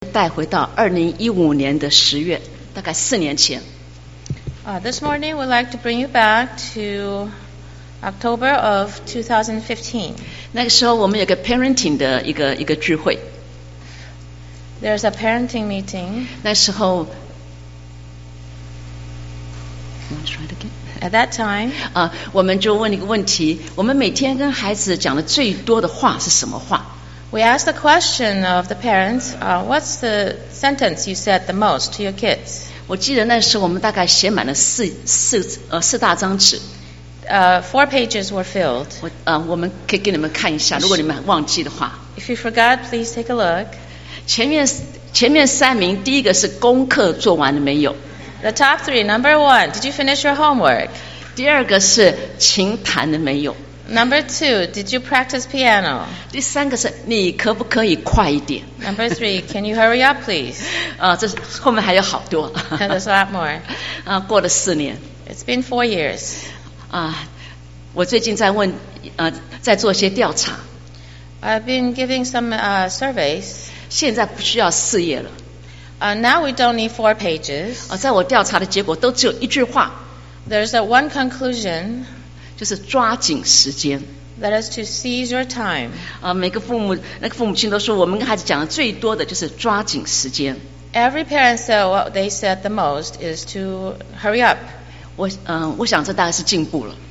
带回到2015年的10月，大概4年前。 This morning we'd like to bring you back to October of 2015. 那个时候我们有个 parenting 的一个聚会。 There's a parenting meeting. 那时候 At that time, 我们就问一个问题：我们每天跟孩子讲的最多的话是什么话？ we asked the question of the parents, what's the sentence you said the most to your kids? 我记得那时候我们大概写满了四大张纸。 4 pages were filled. 我们可以给你们看一下，如果你们忘记的话。 If you forgot, please take a look. 前面3名，第一个是功课做完了没有？ The top 3, number 1, did you finish your homework? 第二个是琴弹了没有？ Number 2, did you practice piano? 第三个是你可不可以快一点？ Number 3, can you hurry up, please? 这是后面还有好多。 And there's a lot more. 过了4年。 It's been 4 years. 我最近在在做一些调查。 I've been giving some surveys. 现在不需要4页了。 Now we don't need 4 pages. 在我调查的结果都只有一句话。 There's one conclusion. 就是抓紧时间。 That is to seize your time. 每个父母亲都说，我们跟孩子讲的最多的就是抓紧时间。 Every parent said what they said the most is to hurry up. 我想这大概是进步了。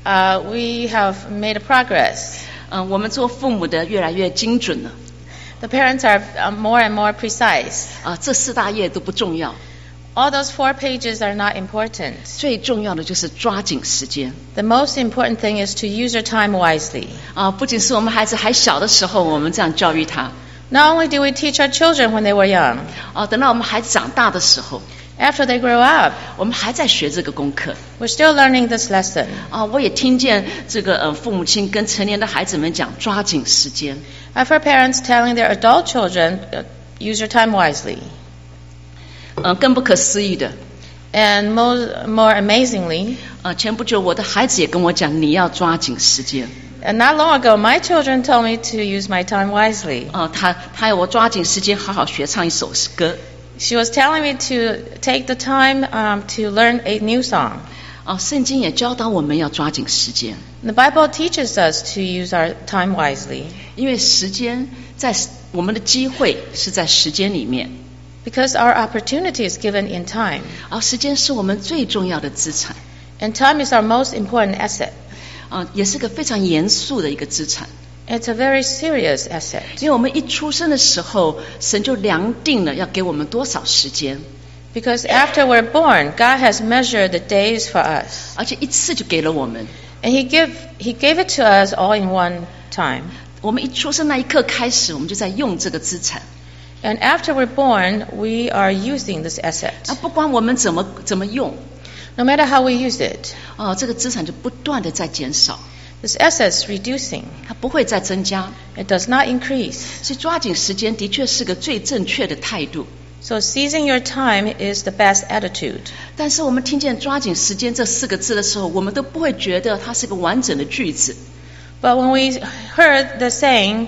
We have made a progress. 我们做父母的越来越精准了。 The parents are more and more precise. 这4大页都不重要。 All those 4 pages are not important. 最重要的就是抓紧时间。 The most important thing is to use your time wisely. 不仅是我们孩子还小的时候，我们这样教育他。 Not only do we teach our children when they were young. 等到我们孩子长大的时候。 After they grow up, 我们还在学这个功课。 We're still learning this lesson. 我也听见这个父母亲跟成年的孩子们讲抓紧时间。 I've heard parents telling their adult children, use your time wisely. 更不可思议的。 And more amazingly, 前不久我的孩子也跟我讲，你要抓紧时间。 And not long ago, my children told me to use my time wisely. 他要我抓紧时间，好好学唱一首歌。 She was telling me to take the time to learn a new song. 圣经也教导我们要抓紧时间。 The Bible teaches us to use our time wisely. 因为时间在我们的机会是在时间里面。 Because our opportunity is given in time. 时间是我们最重要的资产。 And time is our most important asset. 也是个非常严肃的一个资产。 It's a very serious asset. 因为我们一出生的时候，神就量定了要给我们多少时间。 Because after we're born, God has measured the days for us. 而且一次就给了我们。 And He gave it to us all in one time. 我们一出生那一刻开始，我们就在用这个资产。 And after we're born, we are using this asset. 不管我们怎么用。 No matter how we use it. 这个资产就不断的在减少。 This asset is reducing. 它不会再增加。 It does not increase. 所以抓紧时间的确是个最正确的态度。 So seizing your time is the best attitude. 但是我们听见抓紧时间这4个字的时候，我们都不会觉得它是个完整的句子。 But when we heard the saying,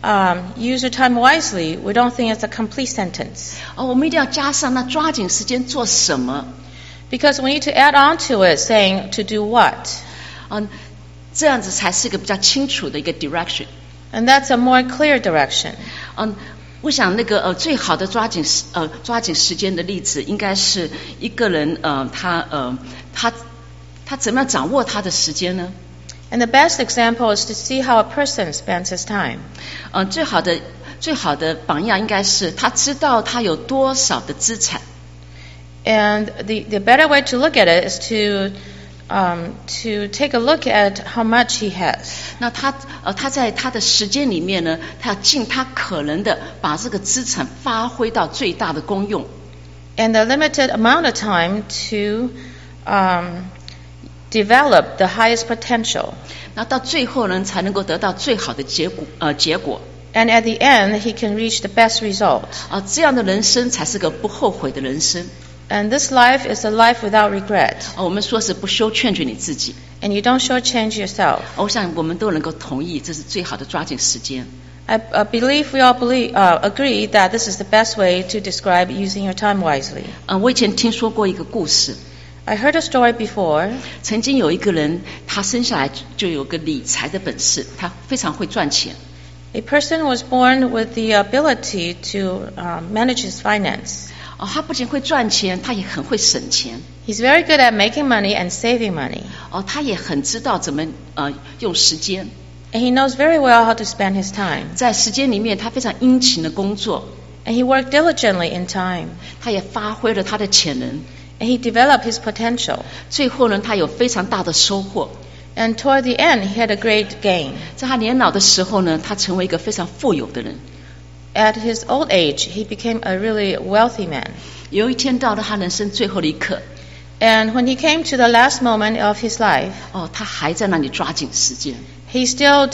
use your time wisely, we don't think it's a complete sentence. 我们一定要加上那抓紧时间做什么。 Because we need to add on to it, saying to do what. 这样子才是个比较清楚的一个 direction. And that's a more clear direction. 我想那个最好的抓紧时间的例子，应该是一个人他怎么样掌握他的时间呢？ And the best example is to see how a person spends his time. 最好的榜样应该是他知道他有多少的资产。 And the better way to look at it is to take a look at how much he has. 那他在他的时间里面呢，他要尽他可能的把这个资产发挥到最大的功用。 And the limited amount of time to develop the highest potential. 那到最后呢，才能够得到最好的结果。 And at the end, he can reach the best result. 这样的人生才是个不后悔的人生。 And this life is a life without regret. 我们说是不修劝举你自己。 And you don't shortchange yourself. 我想我们都能够同意，这是最好的抓紧时间。 I believe we all agree that this is the best way to describe using your time wisely. 我以前听说过一个故事， I heard a story before. 曾经有一个人，他生下来就有个理财的本事，他非常会赚钱。 A person was born with the ability to manage his finance. 他不仅会赚钱，他也很会省钱。 He's very good at making money and saving money. 他也很知道怎么用时间。 And he knows very well how to spend his time. 在时间里面，他非常殷勤的工作， And he worked diligently in time. 他也发挥了他的潜能。 And he developed his potential. 最后呢，他有非常大的收获。 And toward the end, he had a great gain. 在他年老的时候呢，他成为一个非常富有的人。 At his old age, he became a really wealthy man. 有一天到了他人生最后的一刻， And when he came to the last moment of his life, 他还在那里抓紧时间。 he's still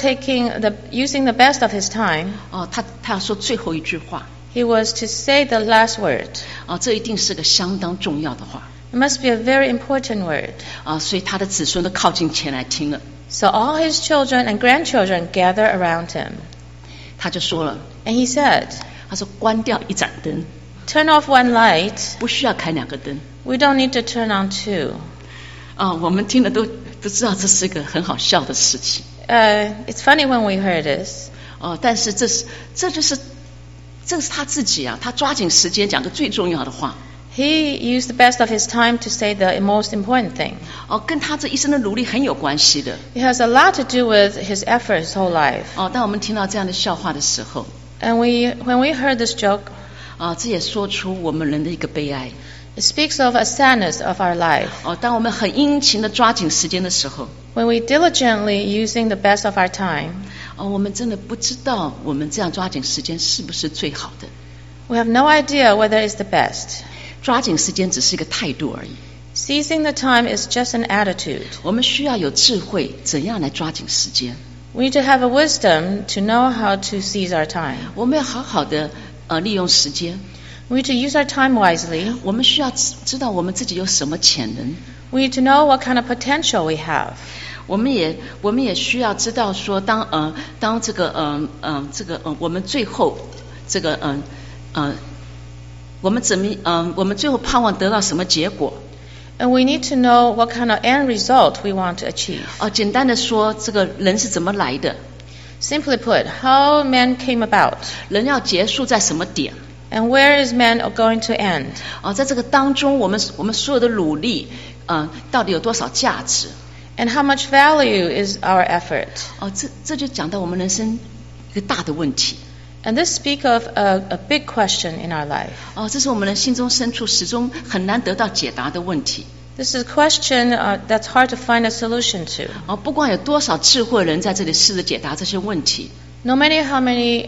using the best of his time. 他要说最后一句话。 He was to say the last word. 这一定是个相当重要的话。 It must be a very important word. 所以他的子孙都靠近前来听了。 So all his children and grandchildren gather around him. 他就说了， And he said, 他说关掉一盏灯， turn off one light. 不需要开两个灯。 We don't need to turn on two. 我们听了都知道这是一个很好笑的事情。 It's funny when we heard this. 但是这是他自己啊，他抓紧时间讲个最重要的话。 He used the best of his time to say the most important thing. 跟他这一生的努力很有关系的。 It has a lot to do with his effort his whole life. 当我们听到这样的笑话的时候， And when we heard this joke, 这也说出我们人的一个悲哀。 it speaks of a sadness of our life. 当我们很殷勤的抓紧时间的时候， When we diligently using the best of our time, 我们真的不知道我们这样抓紧时间是不是最好的。 we have no idea whether it's the best. 抓紧时间只是一个态度而已。 Seizing the time is just an attitude. 我们需要有智慧，怎样来抓紧时间。 We need to have a wisdom to know how to seize our time. 我们要好好的利用时间。 We need to use our time wisely. 我们需要知道我们自己有什么潜能。 We need to know what kind of potential we have. 我们也需要知道说，当这个我们最后这个我们最后盼望得到什么结果？ And we need to know what kind of end result we want to achieve. 简单的说，这个人是怎么来的？ Simply put, how man came about. 人要结束在什么点？ And where is man going to end? 在这个当中，我们所有的努力，到底有多少价值？ And how much value is our effort? 这就讲到我们人生一个大的问题。 And this speaks of a big question in our life. 这是我们的心中深处始终很难得到解答的问题。 This is a question that's hard to find a solution to. 不管有多少智慧人在这里试着解答这些问题。 No matter how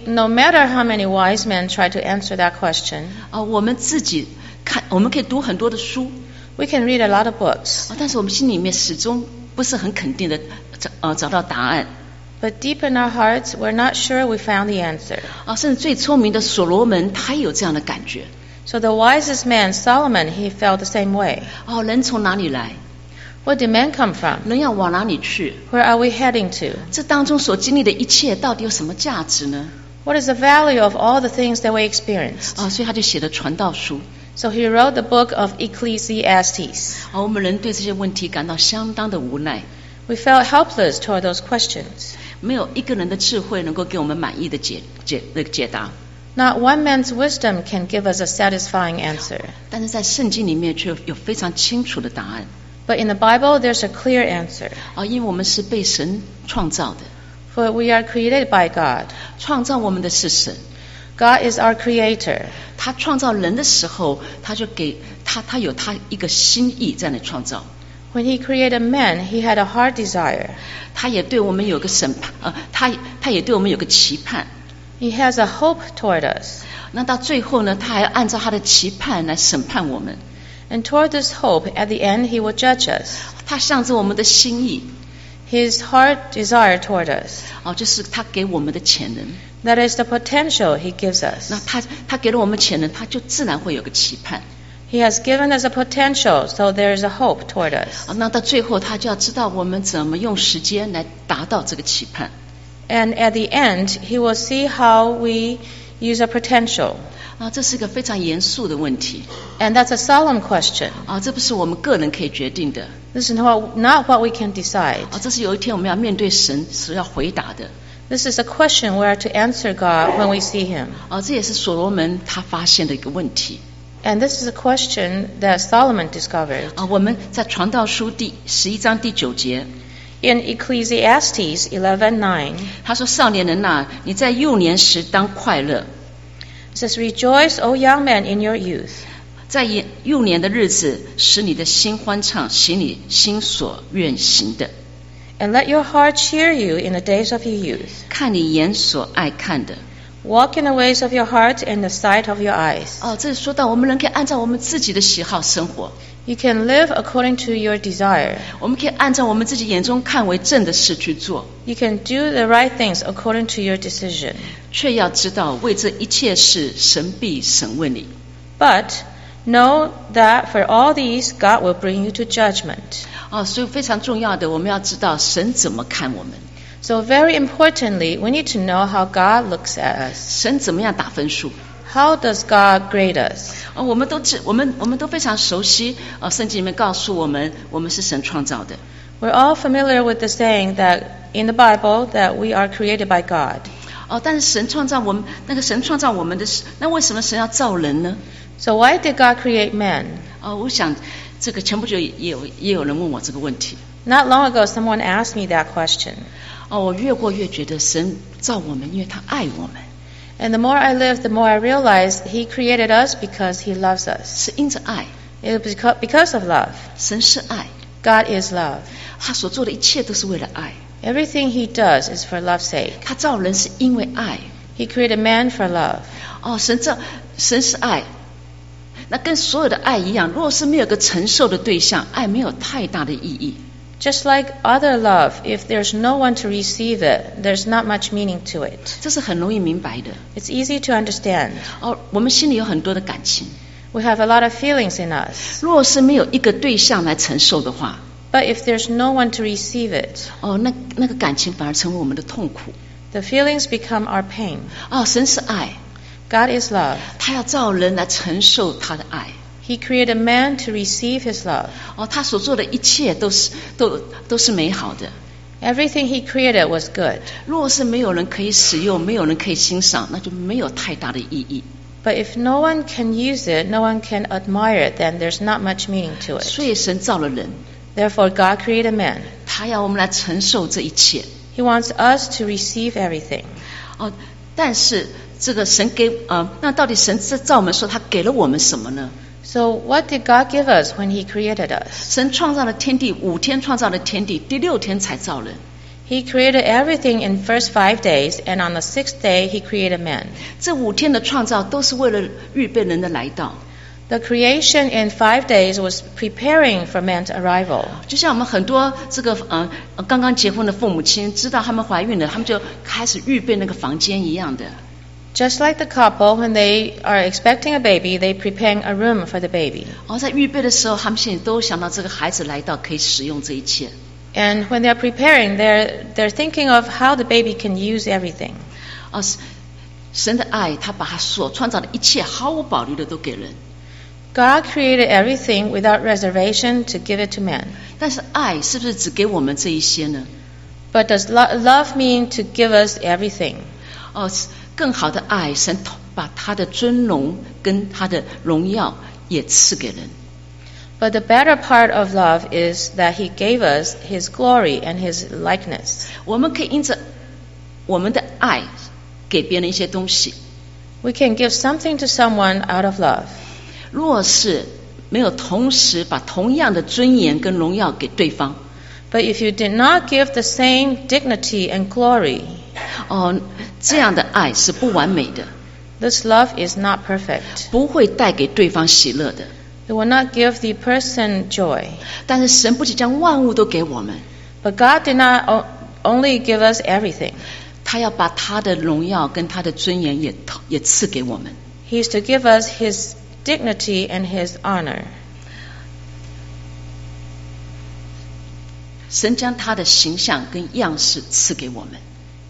many wise men try to answer that question. 我们自己我们可以读很多的书。 We can read a lot of books. 但是我们心里面始终不是很肯定的找到答案。 But deep in our hearts, we're not sure we found the answer. 甚至最聪明的所罗门，他也有这样的感觉。 So the wisest man, Solomon, he felt the same way. 人从哪里来？ Where did man come from? 人要往哪里去？ Where are we heading to? 这当中所经历的一切，到底有什么价值呢？ What is the value of all the things that we experienced? 所以他就写了传道书。 So he wrote the book of Ecclesiastes. 我们人对这些问题感到相当的无奈。 We felt helpless toward those questions. 没有一个人的智慧能够给我们满意的解答。 Not one man's wisdom can give us a satisfying answer. 但是在圣经里面却有非常清楚的答案。 But in the Bible, there's a clear answer. 因为我们是被神创造的。 For we are created by God. 创造我们的是神。 God is our creator. 他创造人的时候，他就给他有他一个心意在那创造。 When he created man, he had a heart desire. 他也对我们有个审判，他也对我们有个期盼。 He has a hope toward us. 那到最后呢，他还按照他的期盼来审判我们。 And toward this hope, at the end, he will judge us. 他向着我们的心意。 His heart desire toward us. 就是他给我们的潜能。 That is the potential he gives us. 那他给了我们潜能，他就自然会有个期盼。 He has given us a potential, so there is a hope toward us. 那到最后，他就要知道我们怎么用时间来达到这个期盼。 And at the end, He will see how we use our potential. 这是一个非常严肃的问题。 And that's a solemn question. 这不是我们个人可以决定的。 This is not what we can decide. 这是有一天我们要面对神所要回答的。 This is a question we are to answer God when we see Him. 这也是所罗门他发现的一个问题。 And this is a question that Solomon discovered. 我们在传道书第11章第9节。 In Ecclesiastes 11:9, 他说：“少年人啊，你在幼年时当快乐。” It says, "Rejoice, O young man, in your youth." 在幼年的日子，使你的心欢畅，行你心所愿行的。 And let your heart cheer you in the days of your youth. 看你眼所爱看的。 Walk in the ways of your heart and the sight of your eyes. 这说到我们人可以按照我们自己的喜好生活。 You can live according to your desire. 我们可以按照我们自己眼中看为正的事去做。 You can do the right things according to your decision. 却要知道，为这一切事，神必审问你。 But know that for all these, God will bring you to judgment. 所以非常重要的，我们要知道神怎么看我们。 So very importantly, we need to know how God looks at us. 神怎么样打分数？ How does God grade us? 我们都非常熟悉圣经里面告诉我们，我们是神创造的。 We're all familiar with the saying that in the Bible that we are created by God. 但是神创造我们，神创造我们的，那为什么神要造人呢？ So why did God create man? 我想这个前不久也有人问我这个问题。 Not long ago, someone asked me that question. 我越过越觉得神造我们，因为他爱我们。 And the more I live, the more I realize He created us because He loves us. 是因着爱。 It is because of love. 神是爱。 God is love. 他所做的一切都是为了爱。 Everything He does is for love's sake. 他造人是因为爱。 He created man for love. 神是爱。那跟所有的爱一样，如果是没有个承受的对象，爱没有太大的意义。 Just like other love, if there's no one to receive it, there's not much meaning to it. 这是很容易明白的。 It's easy to understand. 我们心里有很多的感情。 We have a lot of feelings in us. 如果是没有一个对象来承受的话， But if there's no one to receive it, 那个感情反而成为我们的痛苦。 the feelings become our pain. 神是爱。 God is love. 他要造人来承受他的爱。 He created man to receive His love. 他所做的一切都是美好的。 Everything He created was good. 如果是没有人可以使用，没有人可以欣赏，那就没有太大的意义。 But if no one can use it, no one can admire it, then there's not much meaning to it. 所以神造了人。 Therefore, God created man. 他要我们来承受这一切。 He wants us to receive everything. 但是这个神那到底神造我们说他给了我们什么呢？ So what did God give us when He created us? 神创造了天地，5天创造了天地，第6天才造人。 He created everything in first 5 days, and on the 6th day He created man. 这5天的创造都是为了预备人的来到。 The creation in 5 days was preparing for man's arrival. 就像我们很多这个刚刚结婚的父母亲知道他们怀孕了，他们就开始预备那个房间一样的。 Just like the couple, when they are expecting a baby, they prepare a room for the baby. 在预备的时候，他们心里都想到这个孩子来到可以使用这一切。 And when they're preparing, they're thinking of how the baby can use everything. 神的爱，他把他所创造的一切毫无保留的都给人。 God created everything without reservation to give it to man. 但是爱是不是只给我们这一些呢？ But does love mean to give us everything? 更好的爱，神把他的尊荣跟他的荣耀也赐给人。 But the better part of love is that He gave us His glory and His likeness. 我们可以因着我们的爱给别人一些东西。 We can give something to someone out of love. 若是没有同时把同样的尊严跟荣耀给对方， But if you did not give the same dignity and glory, 这样的爱是不完美的。 This love is not perfect. 不会带给对方喜乐的。 It will not give the person joy. 但是神不仅将万物都给我们， But God did not only give us everything. 他要把他的荣耀跟他的尊严也赐给我们。 He is to give us His dignity and His honor. 神将他的形象跟样式赐给我们。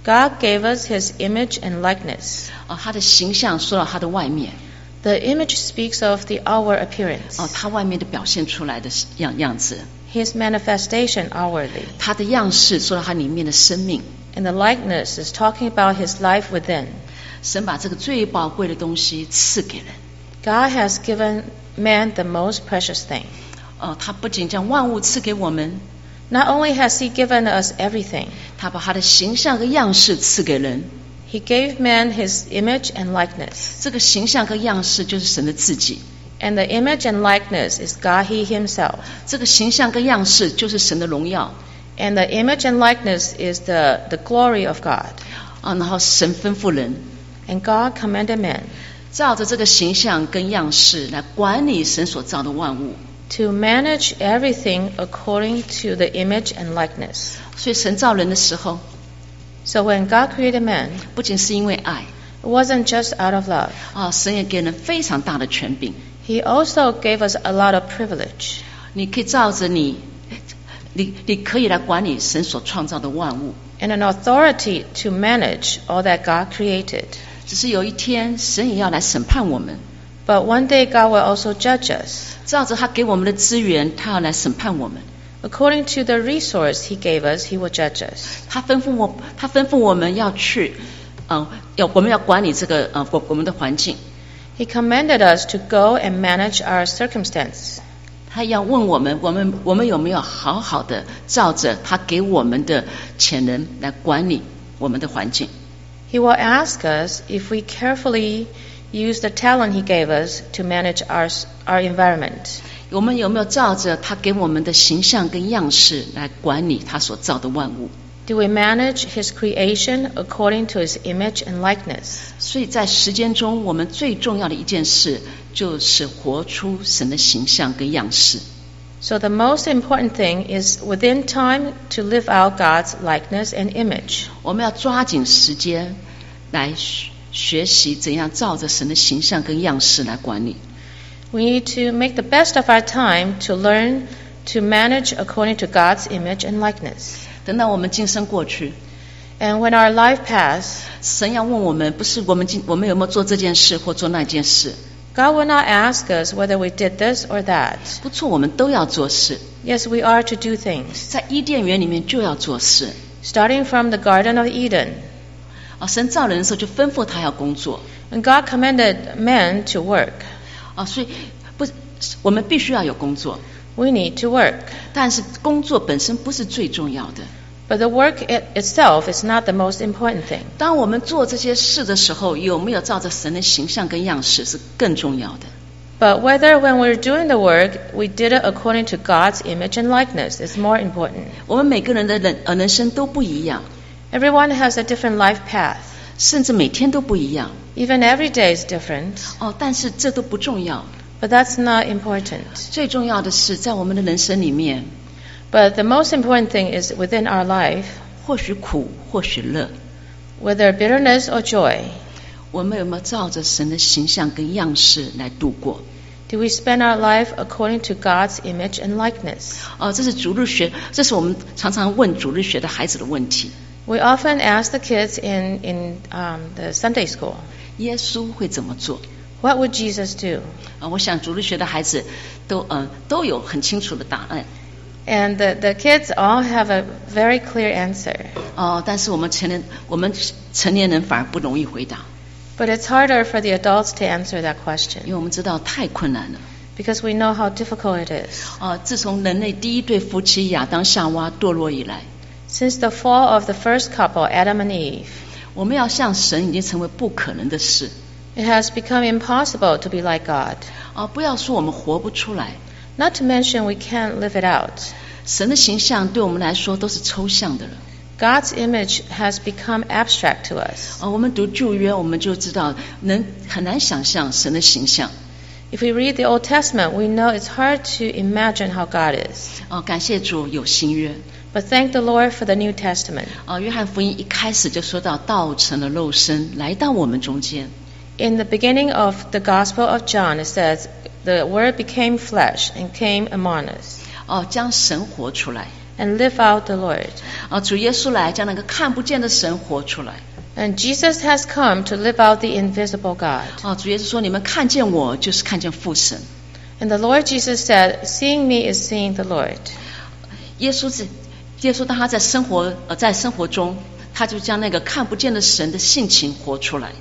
God gave us His image and likeness. 他的形象说到他的外面， The image speaks of the outward appearance, 他外面的表现出来的样子， His manifestation outwardly. 他的样式说到他里面的生命。 And the likeness is talking about His life within. 神把这个最宝贵的东西赐给人。 God has given man the most precious thing. 他不仅将万物赐给我们， Not only has He given us everything, 他把他的形象和样式赐给人。 He gave man His image and likeness. 这个形象和样式就是神的自己， And the image and likeness is God He Himself. 这个形象跟样式就是神的荣耀。 And the image and likeness is the glory of God. 然后神吩咐人 And God commanded man 照着这个形象跟样式来管理神所造的万物。 to manage everything according to the image and likeness. 所以神造人的时候， So when God created man, 不仅是因为爱 it wasn't just out of love. 神也给人非常大的权柄。 He also gave us a lot of privilege. 你可以照着你可以来管理神所创造的万物。 And an authority to manage all that God created. 只是有一天，神也要来审判我们。 But one day God will also judge us. 照着他给我们的资源，他要来审判我们。 According to the resource He gave us, He will judge us. 他吩咐我们要去，我们要管理这个我们的环境。 He commanded us to go and manage our circumstance. 他要问我们有没有好好的照着他给我们的潜能来管理我们的环境。 He will ask us if we carefully use the talent He gave us to manage our environment. 我们有没有照着他给我们的形象跟样式来管理他所造的万物？ Do we manage His creation according to His image and likeness? 所以在时间中，我们最重要的一件事就是活出神的形象跟样式。 So the most important thing is within time to live out God's likeness and image. 我们要抓紧时间来学习怎样照着神的形象跟样式来管理。 We need to make the best of our time to learn to manage according to God's image and likeness. 等到我们今生过去， And when our life pass, 神要问我们，不是我们有没有做这件事或做那件事， God will not ask us whether we did this or that. 不错，我们都要做事。 Yes, we are to do things. 在伊甸园里面就要做事。 Starting from the Garden of Eden, 神造人的时候就吩咐他要工作。 when God commanded man to work, 所以我们必须要有工作， we need to work. 但是工作本身不是最重要的。 But the work itself is not the most important thing. 当我们做这些事的时候，有没有照着神的形象跟样式是更重要的。 But whether when we're doing the work, we did it according to God's image and likeness is more important. 我们每个人的人生都不一样， Everyone has a different life path. 甚至每天都不一样。 Even every day is different. 但是这都不重要。 But that's not important. 最重要的是，在我们的人生里面， But the most important thing is within our life, 或许苦，或许乐， whether bitterness or joy, 我们有没有照着神的形象跟样式来度过？ do we spend our life according to God's image and likeness? 这是主日学，这是我们常常问主日学的孩子的问题。 We often ask the kids in the Sunday school, 耶稣会怎么做？ what would Jesus do? 我想主日学的孩子都有很清楚的答案。 And the kids all have a very clear answer. 但是我们成年人反而不容易回答， But it's harder for the adults to answer that question 因为我们知道太困难了。 because we know how difficult it is. 自从人类第一对夫妻亚当夏娃堕落以来， Since the fall of the first couple, Adam and Eve, 我们要像神已经成为不可能的事。 it has become impossible to be like God. 不要说我们活不出来， Not to mention we can't live it out. 神的形象对我们来说都是抽象的了。 God's image has become abstract to us. 我们读旧约，我们就知道很难想象神的形象。 If we read the Old Testament, we know it's hard to imagine how God is. 感谢主有新约。 But thank the Lord for the New Testament. 约翰福音一开始就说到，道成了肉身来到我们中间。 In the beginning of the Gospel of John, it says, the Word became flesh and came among us. 将神活出来。 and live out the Lord. 主耶稣来将那个看不见的神活出来。 And Jesus has come to live out the invisible God. 主耶稣说，你们看见我就是看见父神。 And the Lord Jesus said, seeing me is seeing the Lord. 耶稣当他在生活中，他就将那个看不见的神的性情活出来。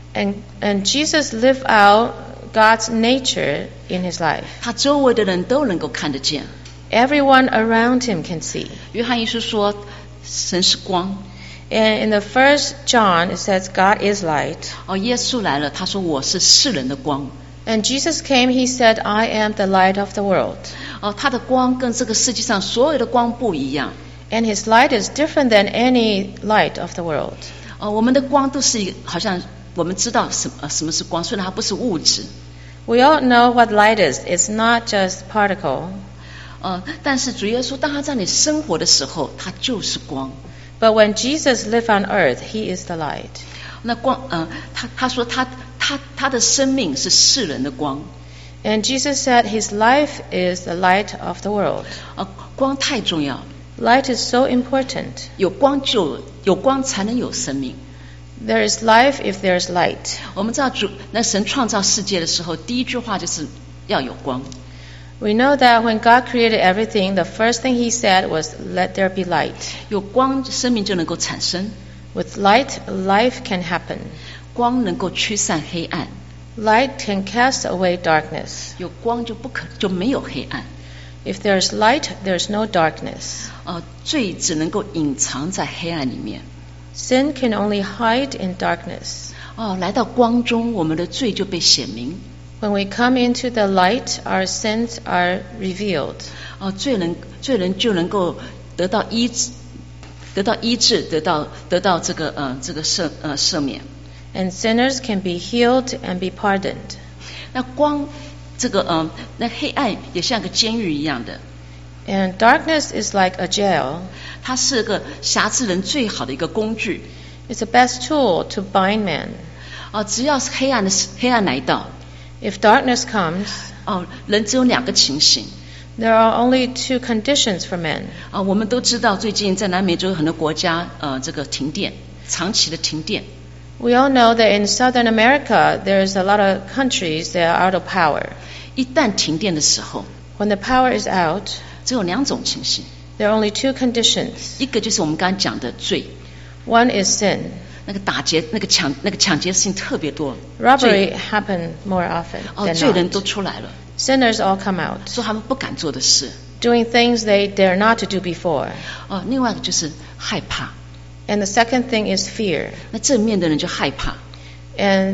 And Jesus lived out God's nature in his life. 他周围的人都能够看得见。 Everyone around him can see. 约翰一书说，神是光。 And in the first John, it says God is light. 耶稣来了，他说我是世人的光。 And Jesus came, he said, I am the light of the world. 他的光跟这个世界上所有的光不一样。 And his light is different than any light of the world. 我们的光都是好像我们知道什么是光，虽然它不是物质。 We all know what light is. It's not just particle. 但是主耶稣当他在你生活的时候，他就是光。 But when Jesus lived on earth, he is the light. 那光，他说他的生命是世人的光。 And Jesus said his life is the light of the world. 光太重要。 Light is so important. 有光才能有生命。 There is life if there is light. 我们知道那神创造世界的时候，第一句话就是要有光。 We know that when God created everything, the first thing he said was, let there be light. 有光，生命就能够产生。 With light, life can happen. 光能够驱散黑暗。 Light can cast away darkness. 有光就没有黑暗。 If there is light, there is no darkness. 罪只能够隐藏在黑暗里面。 Sin can only hide in darkness. 来到光中，我们的罪就被显明。 When we come into the light, our sins are revealed. 罪人就能够得到医治，得到这个赦免。 And sinners can be healed and be pardoned. 那光，那黑暗也像个监狱一样的。 And darkness is like a jail. 它是个辖制人最好的一个工具。 It's the best tool to bind man. 只要是黑暗来到。 If darkness comes, 人只有两个情形。 There are only two conditions for men. 我们都知道，最近在南美洲很多国家，这个停电，长期的停电。 We all know that in Southern America, there's a lot of countries that are out of power. 一旦停电的时候， When the power is out, 只有两种情形。 There are only two conditions. 一个就是我们刚刚讲的罪。 One is sin. 那个打劫、那个抢劫事情特别多。 Robbery happen more often than 罪人 not. 都出来了， Sinners all come out, 说他们不敢做的事。 doing things they dare not to do before. 另外一个就是害怕。 And the second thing is fear. 那正面的人就害怕。 And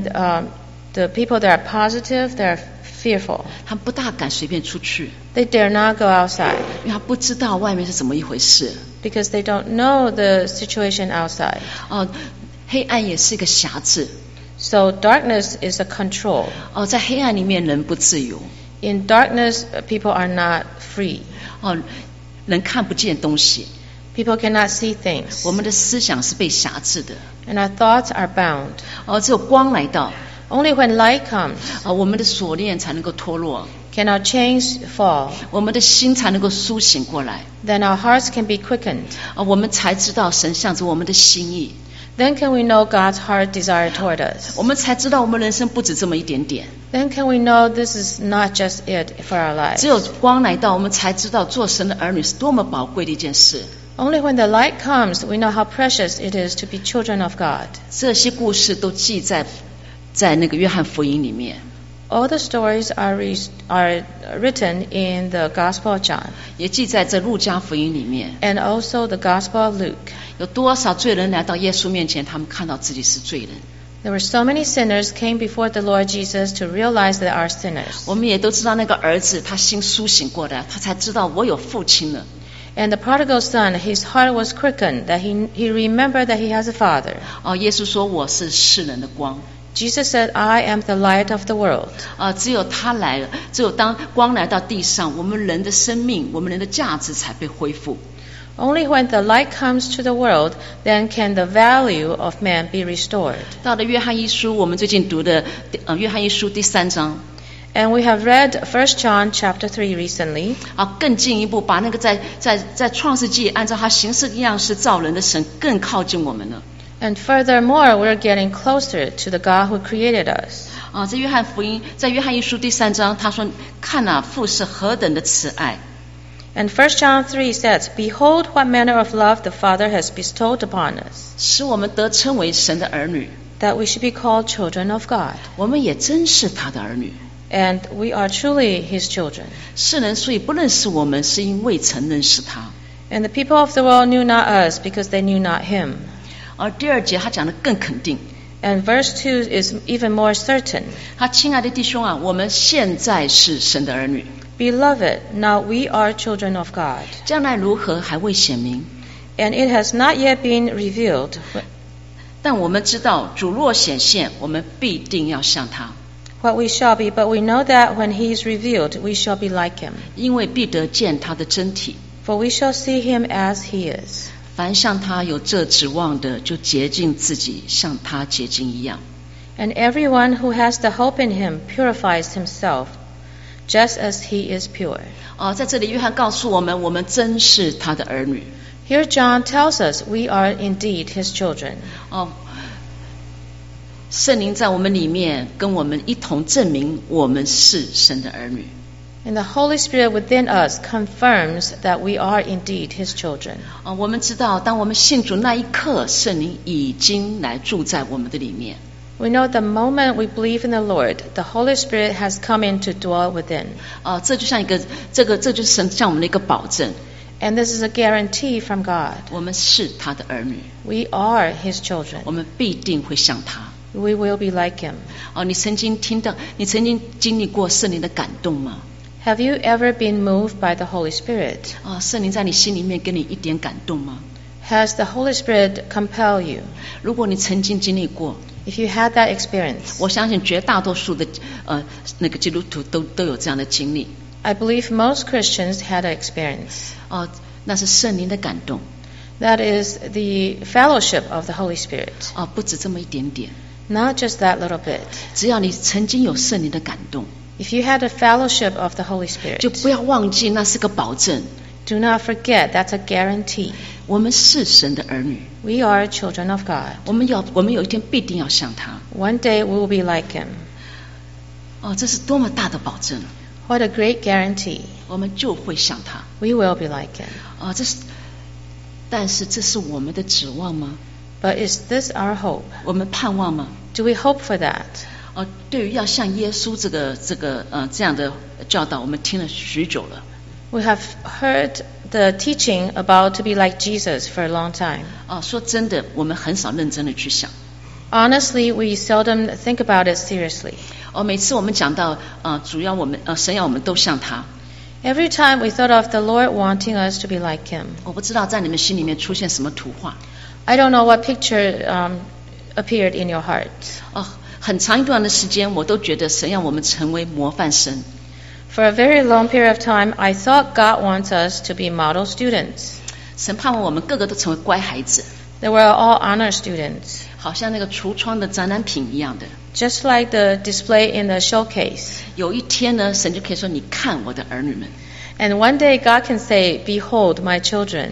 the people that are positive, they're fearful. 他们不大敢随便出去， They dare not go outside 因为他不知道外面是怎么一回事。 because they don't know the situation outside. 黑暗也是一个辖制。 So darkness is a control. 在黑暗里面人不自由。 In darkness, people are not free. 人看不见东西。 People cannot see things. 我们的思想是被辖制的。 And our thoughts are bound. 只有光来到， Only when light comes 我们的锁链才能够脱落， can our chains fall. 我们的心才能够苏醒过来， Then our hearts can be quickened. 我们才知道神向着我们的心意， Then can we know God's heart desire toward us. 我们才知道我们人生不止这么一点点。 Then can we know this is not just it for our lives. 只有光来到，我们才知道做神的儿女是多么宝贵的一件事。 Only when the light comes, we know how precious it is to be children of God. 这些故事都记在那个约翰福音里面。 All the stories are written in the Gospel of John. 也记在这路加福音里面。 And also the Gospel of Luke. 有多少罪人来到耶稣面前，他们看到自己是罪人。 There were so many sinners came before the Lord Jesus to realize they are sinners. 我们也都知道那个儿子，他心苏醒过来，他才知道我有父亲了。 And the prodigal son, his heart was quickened, that he remembered that he has a father. 耶稣说我是世人的光。 Jesus said, I am the light of the world. 只有他来了，只有当光来到地上，我们人的生命，我们人的价值才被恢复。 Only when the light comes to the world, then can the value of man be restored. 到了约翰一书，我们最近读的约翰一书第3章。 And we have read 1 John chapter 3 recently. 更进一步把那个在创世纪按照他形式样式造人的神更靠近我们了。 And furthermore, we're getting closer to the God who created us. 在约翰福音，在约翰一书第3章，他说：“看啊，父是何等的慈爱。” And 1 John 3 says, Behold what manner of love the Father has bestowed upon us, 使我们得称为神的儿女。 that we should be called children of God. 我们也真是他的儿女。 And we are truly His children. 世人所以不认识我们，是因未曾认识他。 And the people of the world knew not us because they knew not Him. 而第2节他讲的更肯定， And verse 2 is even more certain. 他亲爱的弟兄啊，我们现在是神的儿女， Beloved, now we are children of God. 将来如何还未显明。 And it has not yet been revealed. 但我们知道，主若显现，我们必定要像他， What we shall be, but we know that when He is revealed, we shall be like Him. 因为必得见他的真体。 For we shall see Him as He is. 凡向他有这指望的，就洁净自己，像他洁净一样。 And everyone who has the hope in Him purifies himself, just as He is pure. 在这里，约翰告诉我们，我们真是他的儿女。 Here John tells us we are indeed His children. 圣灵在我们里面，跟我们一同证明我们是神的儿女。 And the Holy Spirit within us confirms that we are indeed His children. 我们知道，当我们信主那一刻，圣灵已经来住在我们的里面。 We know the moment we believe in the Lord, the Holy Spirit has come in to dwell within. 这就像这就是神向我们的一个保证。 And this is a guarantee from God. 我们是他的儿女， We are His children. 我们必定会像他。 We will be like Him. 你曾经经历过圣灵的感动吗？ Have you ever been moved by the Holy Spirit? 圣灵在你心里面给你一点感动吗？ Has the Holy Spirit compelled you? 如果你曾经经历过， If you had that experience, 我相信绝大多数的那个基督徒都有这样的经历。 I believe most Christians had an experience. 那是圣灵的感动。 That is the fellowship of the Holy Spirit. 不止这么一点点。 Not just that little bit. 只要你曾经有圣灵的感动， If you had a fellowship of the Holy 就 Spirit, 不要忘记那是个保证。 do not forget that's a guarantee. 我们是神的儿女， We are children of God. 我们有一天必定要像他。 One day we will be like Him. 这是多么大的保证！ What a great guarantee. 我们就会像他。 We will be like Him. 但是这是我们的指望吗？ But is this our hope? 我们盼望吗？ Do we hope for that? 对于要像耶稣这样的教导，我们听了许久了。 We have heard the teaching about to be like Jesus for a long time. 说真的，我们很少认真的去想。 Honestly, we seldom think about it seriously. 每次我们讲到主要我们神要我们都像他。 Every time we thought of the Lord wanting us to be like Him. 我不知道在你们心里面出现什么图画。 I don't know what picture appeared in your heart. 很长一段的时间，我都觉得神要我们成为模范生。 For a very long period of time, I thought God wants us to be model students. 神盼望我们个个都成为乖孩子， They were all honor students, 好像那个橱窗的展览品一样的。 just like the display in the showcase. 有一天呢，神就可以说：“你看我的儿女们。” And one day God can say, Behold my children.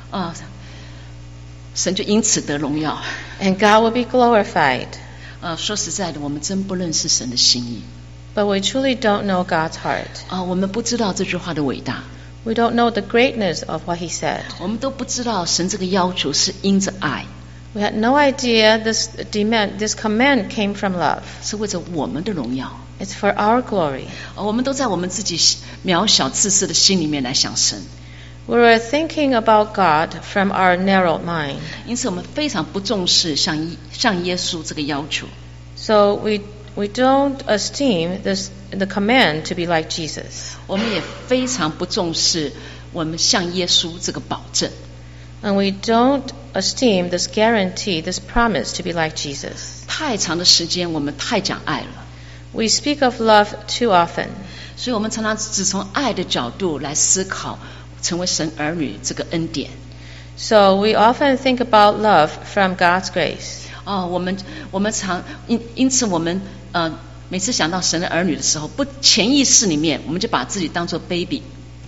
神就因此得荣耀。 And God will be glorified. 说实在的，我们真不认识神的心意。 But we truly don't know God's heart. 我们不知道这句话的伟大。 We don't know the greatness of what He said. 我们都不知道神这个要求是因着爱， We had no idea this command came from love. 是为着我们的荣耀。 It's for our glory. 我们都在我们自己渺小自私的心里面来想神， We were thinking about God from our narrow mind. 因此我们非常不重视像耶稣这个要求。 So we don't esteem the command to be like Jesus. 我们也非常不重视我们像耶稣这个保证。 And we don't esteem this guarantee, this promise to be like Jesus. 太长的时间，我们太讲爱了， We speak of love too often. 所以我们常常只从爱的角度来思考成为神儿女这个恩典。 So we often think about love from God's grace. 我们常因此我们每次想到神的儿女的时候，不潜意识里面我们就把自己当作 baby。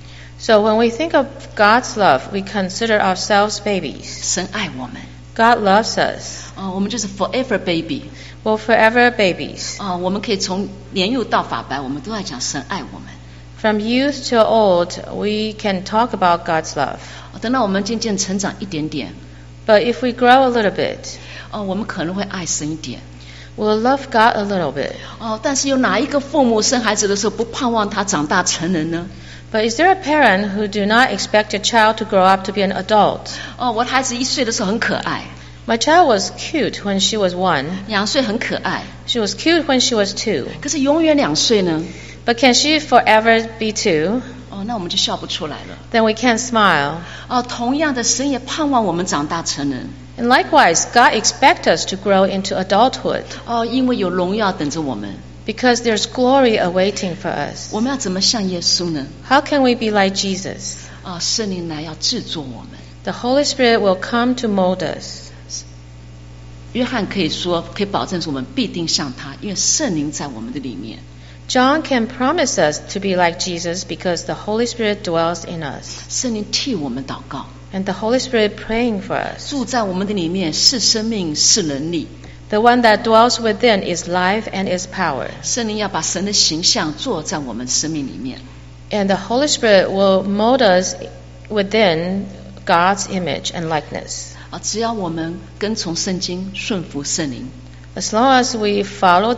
So when we think of God's love, we consider ourselves babies. 神爱我们， God loves us. 我们就是 forever baby。 We're forever babies. 我们可以从年幼到发白，我们都在讲神爱我们。 From youth till old, we can talk about God's love. 等到我们渐渐成长一点点， But if we grow a little bit, 我们可能会爱神一点。 we'll love God a little bit. 但是有哪一个父母生孩子的时候不盼望他长大成人呢？ But is there a parent who do not expect a child to grow up to be an adult? 我的孩子1岁的时候很可爱， My child was cute when she was 1. 2岁很可爱， She was cute when she was 2. 可是永远2岁呢？ But can she forever be 2? 那我们就笑不出来了。 Then we can't smile. 同样的，神也盼望我们长大成人。 And likewise, God expects us to grow into adulthood 因为有荣耀等着我们。 because there's glory awaiting for us. 我们要怎么像耶稣呢？ How can we be like Jesus? 圣灵来要制作我们。 The Holy Spirit will come to mold us. 约翰可以保证说我们必定像他，因为圣灵在我们的里面。 John can promise us to be like Jesus because the Holy Spirit dwells in us. 圣灵替我们祷告， And the Holy Spirit praying for us. 住在我们的里面，是生命，是能力。 The one that dwells within is life and is power. 圣灵要把神的形象做在我们生命里面。 And the Holy Spirit will mold us within God's image and likeness. 只要我们跟从圣经，顺服圣灵， As long as we follow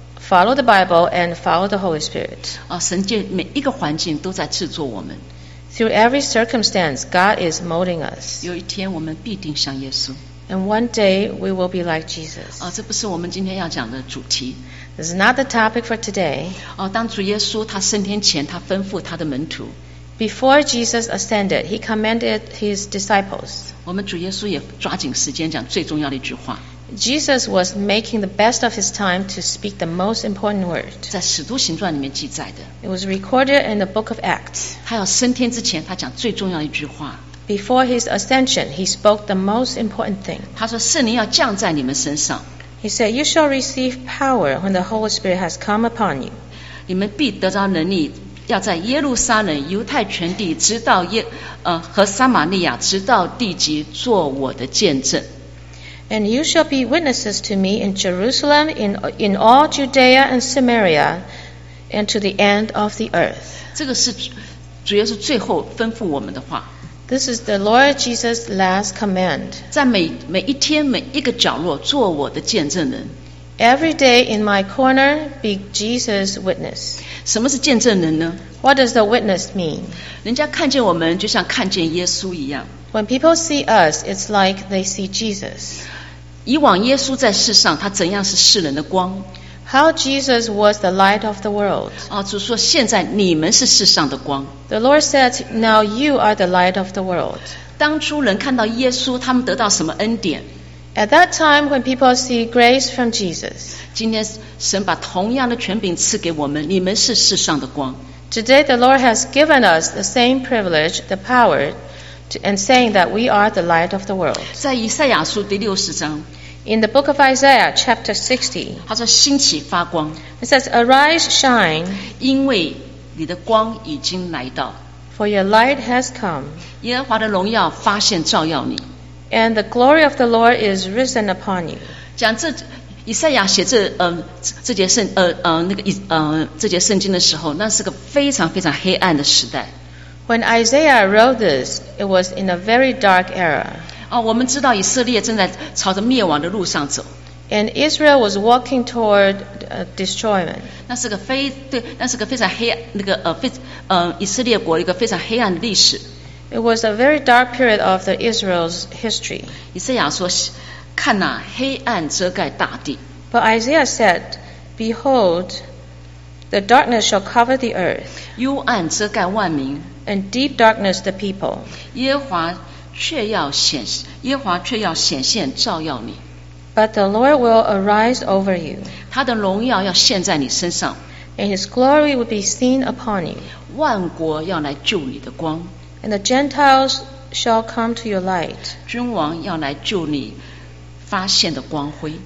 the Bible and follow the Holy Spirit. 神界每一个环境都在制作我们。 Through every circumstance, God is molding us. 有一天我们必定像耶稣。 And one day we will be like Jesus. 这不是我们今天要讲的主题。 This is not the topic for today. 当主耶稣他升天前，他吩咐他的门徒， Before Jesus ascended, he commanded his disciples. 我们主耶稣也抓紧时间讲最重要的一句话。 Jesus was making the best of his time to speak the most important word. 在使徒行传里面记载的， It was recorded in the book of Acts. 他要升天之前，他讲最重要的一句话。 Before his ascension, he spoke the most important thing. 他说：“圣灵要降在你们身上， He said, You shall receive power when the Holy Spirit has come upon you. 你们必得着能力，要在耶路撒冷、犹太全地，直到和撒玛利亚，直到地极，做我的见证。” And you shall be witnesses to me in Jerusalem, in all Judea and Samaria, and to the end of the earth. 这个是主耶稣最后吩咐我们的话。 This is the Lord Jesus' last command. 在每一天每一个角落做我的见证人。 Every day in my corner, be Jesus' witness. 什么是见证人呢？ What does the witness mean? 人家看见我们，就像看见耶稣一样。 When people see us, it's like they see Jesus. 以往耶稣在世上，他怎样是世人的光？ How Jesus was the light of the world. 主说现在你们是世上的光。 The Lord said, Now you are the light of the world. 当初人看到耶稣，他们得到什么恩典？ At that time, when people see grace from Jesus, 今天神把同样的权柄赐给我们，你们是世上的光。 today the Lord has given us the same privilege, the power, and saying that we are the light of the world. 在以赛亚书第60章， In the book of Isaiah, chapter 60, 他说：“兴起发光， it says, Arise, shine, 因为你的光已经来到， for your light has come, 耶和华的荣耀发现照耀你。” and the glory of the Lord is risen upon you. 讲以赛亚写这节圣经的时候，那是个非常非常黑暗的时代。 When Isaiah wrote this, it was in a very dark era. 我们知道以色列正在朝着灭亡的路上走。 And Israel was walking toward destroyment. 那是个非常黑以色列国一个非常黑暗的历史。 It was a very dark period of the Israel's history. 以赛亚说：“看哪，黑暗遮盖大地。” But Isaiah said, Behold, the darkness shall cover the earth, 幽暗遮盖万民， and deep darkness the people. 耶和华却要显现照耀你， But the Lord will arise over you, 他的荣耀要现在你身上， and his glory will be seen upon you. 万国要来救你的光， And the Gentiles shall come to your light, 君王要来救你发现的光辉。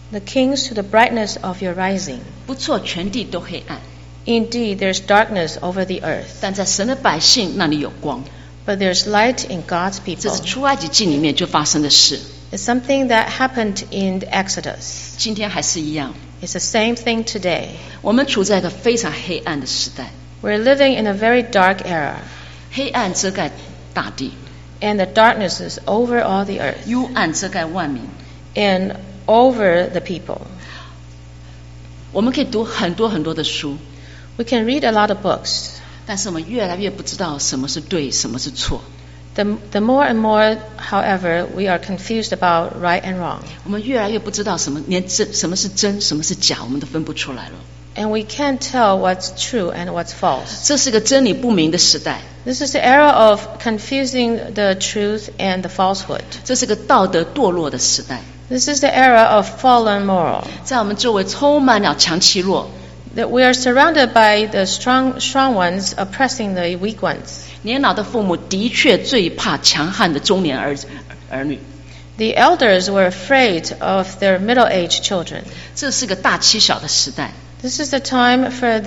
the kings to the brightness of your rising. 不错，全地都黑暗， Indeed, there's darkness over the earth, 但在神的百姓那里有光。 but there's light in God's 这 people. 是出埃及记里面就发生的事， It's something that happened in the Exodus. 今天还是一样。 It's the same thing today. 我们处在一个非常黑暗的时代， We're living in a very dark era, 黑暗遮盖大地， and the darkness is over all the earth 幽暗遮盖万民。 and over the people. 我们可以读很多很多的书， We can read a lot of books. 但是我们越来越不知道什么是对，什么是错。 The more and more, however, we are confused about right and wrong. 我们越来越不知道连什么是真，什么是假，我们都分不出来了。 And we can't tell what's true and what's false. 这是个真理不明的时代， This is the era of confusing the truth and the falsehood. 这是个道德堕落的时代， This is the era of fallen moral. 在我们周围充满了强欺弱。 That we are surrounded by the strong ones oppressing the weak ones. 年老的父母的确最怕强悍的中年儿女， The elders were afraid of their middle-aged children. 这是个大欺小的时代。 This is the time for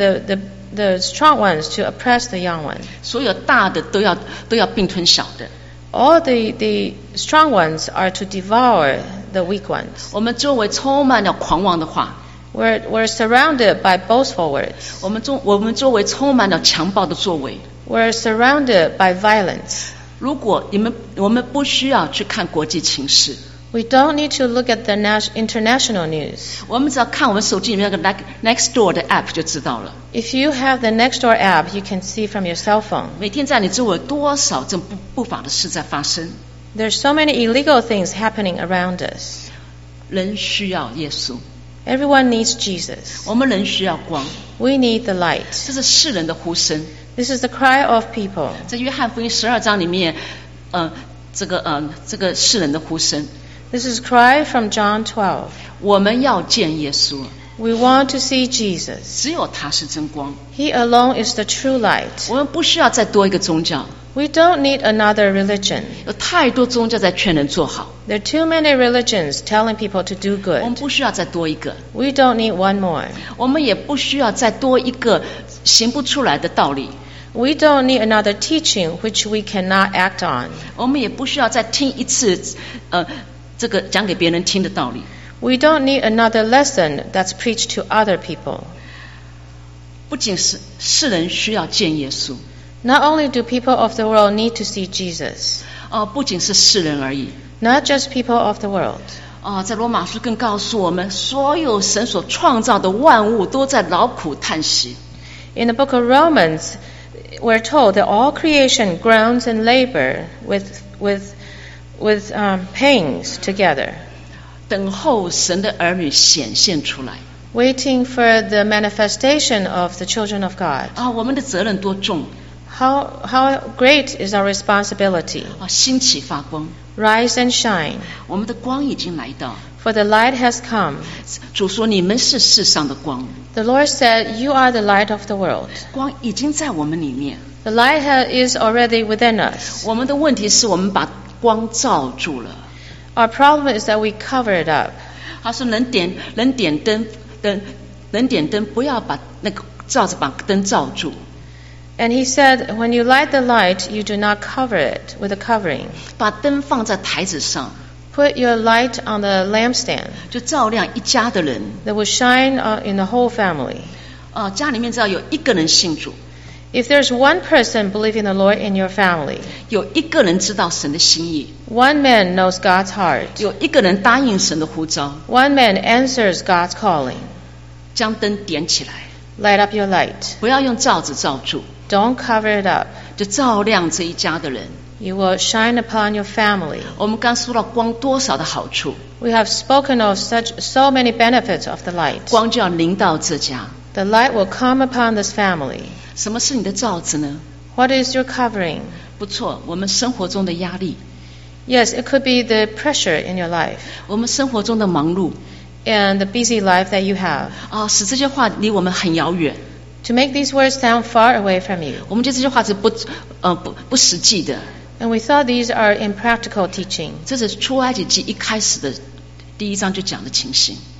the strong ones to oppress the young ones. 所有大的都要并吞小的。 All the strong ones are to devour the weak ones. 我们周围充满了狂妄的话， We're surrounded by boastful words. 我们周围充满了强暴的作为。 We're surrounded by violence. 如果我们不需要去看国际情势， We don't need to look at the international news. 我们只要看我们手机里面那个 Nextdoor 的 app 就知道了。 If you have the Nextdoor app, you can see from your cell phone. 每天在你周围有多少这不法的事在发生？ There's so many illegal things happening around us. 人需要耶稣， Everyone needs Jesus. 我们人需要光， We need the light. 这是世人的呼声。 This is the cry of people. 在约翰福音12章里面，这个世人的呼声， This is cry from John 12. 我们要见耶稣， We want to see Jesus. 只有他是真光。 He alone is the true light. 我们不需要再多一个宗教， We don't need another religion. 有太多宗教在劝人做好， There are too many religions telling people to do 我们 good. 不需要再多一个， We don't need one more. 我们也不需要再多一个行不出来的道理， We don't need another teaching which we cannot act on. 我们也不需要再听一次这个讲给别人听的道理。 We don't need another lesson that's preached to other people. 不仅是世人需要见耶稣， Not only do people of the world need to see Jesus, 不仅是世人而已。 not just people of the world. 在罗马书更告诉我们，所有神所创造的万物都在劳苦叹息。 In the book of Romans, we're told that all creation groans and labor with pains together, 等候神的儿女显现出来。 waiting for the manifestation of the children of God. 我们的责任多重 How great is our responsibility? 兴起发光， Rise and shine, 我们的光已经来到。 for the light has come. 主说：“你们是世上的光， The Lord said, You are the light of the world. 光已经在我们里面。 The light is already within us. 我们的问题是我们把光罩住了。 Our problem is that we cover it up. 他说：人点灯，不要把那个罩子把灯罩住。 And he said, When you light the light, you do not cover it with a covering. 把灯放在台子上， Put your light on the lampstand 就照亮一家的人。 that will shine in the whole family. 家里面只要有一个人信主， If there's one person believing the Lord in your family, 有一个人知道神的心意， one man knows God's heart, 有一个人答应神的呼召， one man answers God's calling, 将灯点起来， light up your light. 不要用罩子罩住， Don't cover it up. 就照亮这一家的人。 You will shine upon your family. 我们刚说到光多少的好处， We have spoken of so many benefits of the light. 光就要临到这家。 The light will come upon this family. 什么是你的罩子呢？ What is your covering? 不错，我们生活中的压力， Yes, it could be the pressure in your life 我们生活中的忙碌， and the busy life that you have. 使这些话离我们很遥远。 To make these words sound far away from you. 我们觉得这些话是不实际的。 And we thought these are impractical teaching. 这是出埃及记一开始的第1章就讲的情形。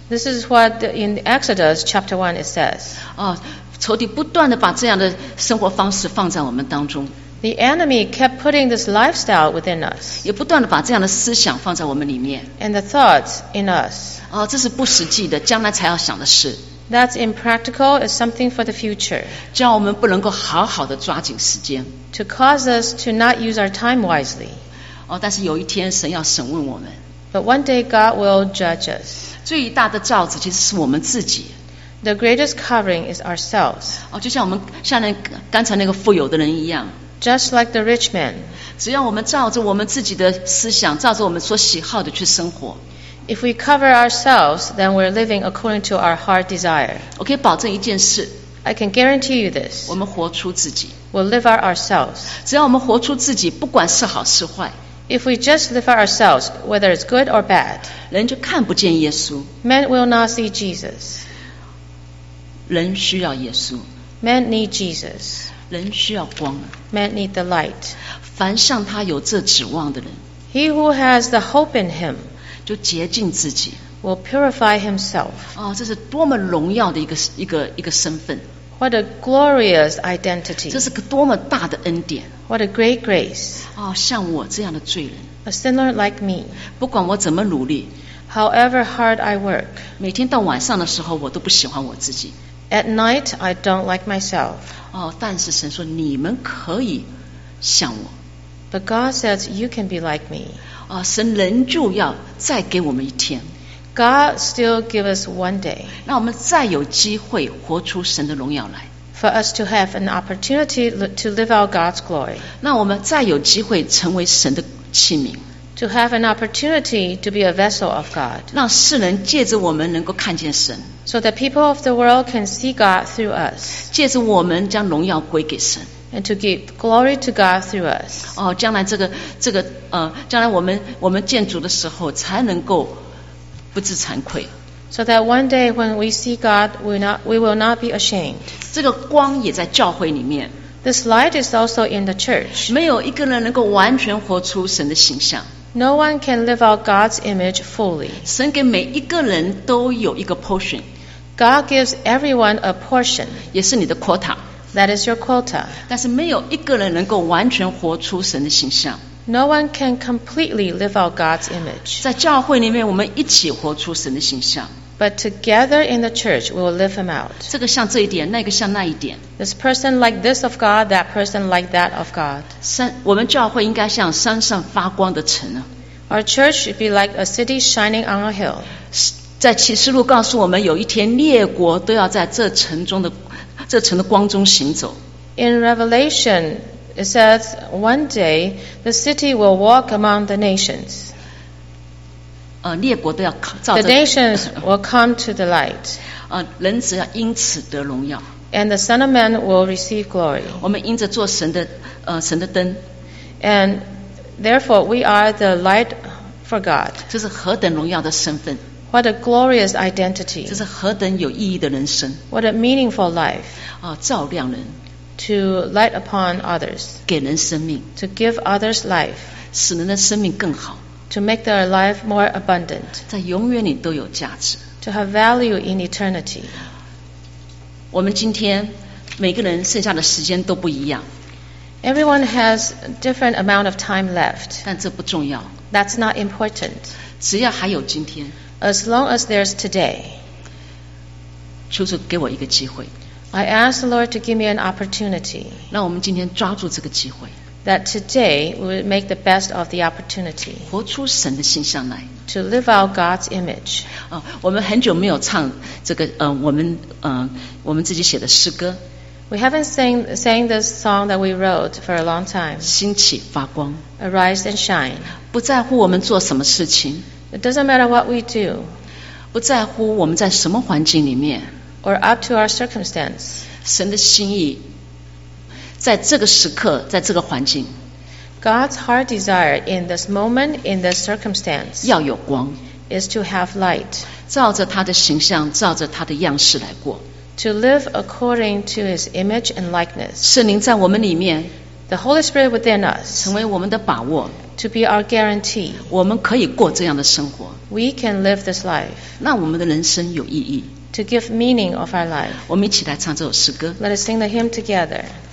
This is what in Exodus chapter 1 it says. 仇敌不断的把这样的生活方式放在我们当中， The enemy kept putting this lifestyle within us 也不断的把这样的思想放在我们里面。 and the thoughts in us. 这是不实际的，将来才要想的事， That's impractical. It's something for the future 这样我们不能够好好的抓紧时间。 to cause us to not use our time wisely. 但是有一天神要审问我们， But one day God will judge us. 最大的罩子其实是我们自己。 The greatest covering is ourselves. 就像我们刚才那个富有的人一样， Just like the rich man. 只要我们照着我们自己的思想，照着我们所喜好的去生活， If we cover ourselves, then we're living according to our heart desire. 我可以保证一件事， I can guarantee you this. 我们活出自己。 We'll live out ourselves. 只要我们活出自己，不管是好是坏， If we just live out ourselves, whether it's good or bad, 人就看不见耶稣。 men will not see Jesus. 人需要耶稣， Men need Jesus. 人需要光。 Men need the light. 凡向他有这指望的人， He who has the hope in him 就洁净自己。 will purify himself. 这是多么荣耀的一个身份， What a glorious identity. 这是个多么大的恩典。 What a great grace. 像我这样的罪人， A sinner like me. 不管我怎么努力， However hard I work, 每天到晚上的时候，我都不喜欢我自己。 at night I don't like myself. 但是神说你们可以像我。 But God says you can be like me. 神仍旧要再给我们一天， God still give us one day 让我们再有机会活出神的荣耀来， for us to have an opportunity to live out God's glory, 让我们再有机会成为神的器皿， to have an opportunity to be a vessel of God, 让世人借着我们能够看见神， so that people of the world can see God through us, 借着我们将荣耀归给神。 and to give glory to God through us. 将来将来我们见主的时候，才能够不知惭愧。 So that one day when we see God, we will not be ashamed. 这个光也在教会里面， This light is also in the church. 没有一个人能够完全活出神的形象。 No one can live out God's image fully. 神给每一个人都有一个 portion， God gives everyone a portion. 也是你的 quota， That is your quota. 但是没有一个人能够完全活出神的形象。 No one can completely live out God's image. 在教会里面，我们一起活出神的形象。 But together in the church, we will live him out. 这个像这一点，那个像那一点。 This person like this of God, that person like that of God. 我们教会应该像山上发光的城啊。 Our church should be like a city shining on a hill. 在启示录告诉我们，有一天列国都要在这城的光中行走。 In Revelation, it says, one day the city will walk among the nations. 列国都要照 The 着 nations will come to the light, 人只要因此得荣耀。 and the Son of Man will receive glory. 我们因着做神的灯， And therefore we are the light for God. 这是何等荣耀的身份， What a glorious 这 identity. 是何等有意义的人生。 What a meaningful life 照亮人， to light upon others, 给人生命， to give others life, 使人的生命更好， to make their life more abundant, 在永远里都有价值。 to have value in eternity. 我们今天每个人剩下的时间都不一样， Everyone has a different amount of time left. 但这不重要， That's not important. 只要还有今天， As long as there's today, 求主给我一个机会， I ask the Lord to give me an opportunity, 让我们今天抓住这个机会， that today we would make the best of the opportunity 活出神的形象来。 to live out God's image. 我们很久没有唱这个我们自己写的诗歌， We haven't sang this song that we wrote for a long time, 兴起发光， Arise and Shine. 不在乎我们做什么事情， It doesn't matter what we do 不在乎我们在什么环境里面， or up to our circumstance. 神的心意在这个时刻，在这个环境 God's heart desire in this moment, in this circumstance, 要有光， is to have light, 照着他的形象，照着他的样式来过。 to live according to His image and likeness. 圣灵在我们里面 The Holy Spirit within us 成为我们的把握， to be our guarantee. 我们可以过这样的生活， We can live this life, 那我们的人生有意义。 to give meaning of our life. 我们一起来唱这首诗歌。 Let us sing the hymn together.